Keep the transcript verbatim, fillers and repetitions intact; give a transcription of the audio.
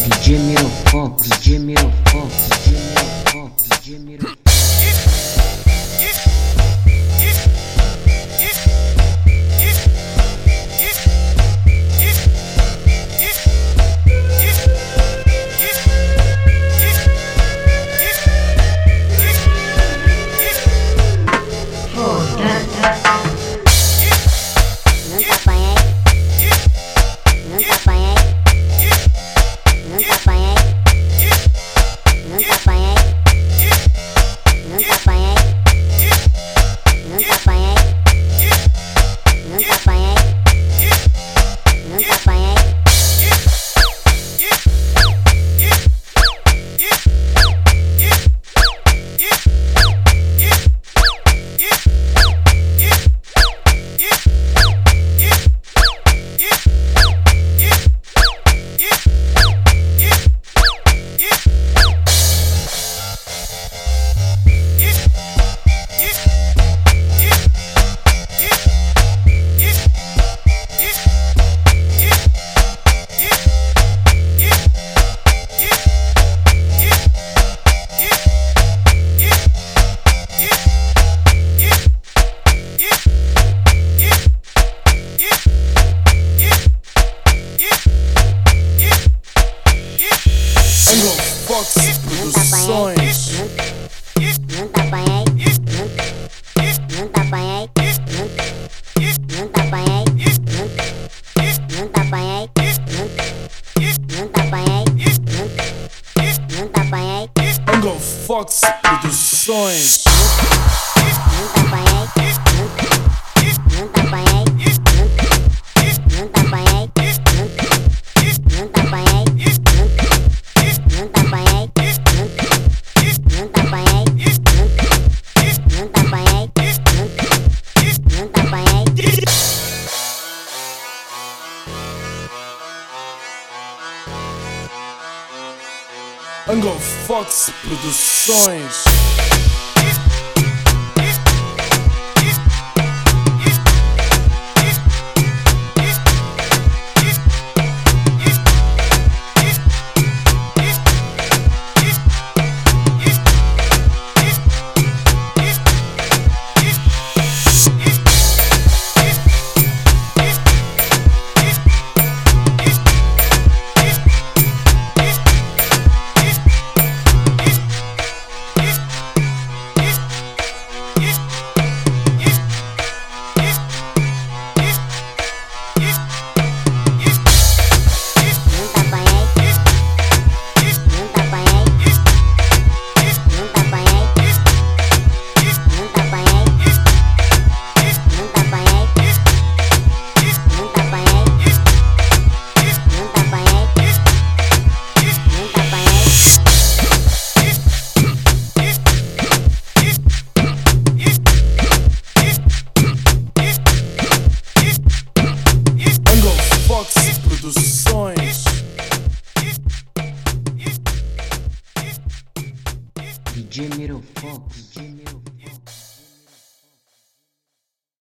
D J Miro Fox, D J Miro Fox, D J Miro Fox, D J Miro Fox. Fox Produções. Nunca apanhei, nunca apanhei, nunca apanhei, nunca apanhei, nunca apanhei, nunca apanhei. Angle Fox Produções. Nunca apanhei, nunca apanhei, nunca apanhei, nunca apanhei. Nunca apanhei, nunca apanhei, nunca apanhei, nunca apanhei. Angle Fox Produções. Produções. D J Miro Fox, D J Miro Fox.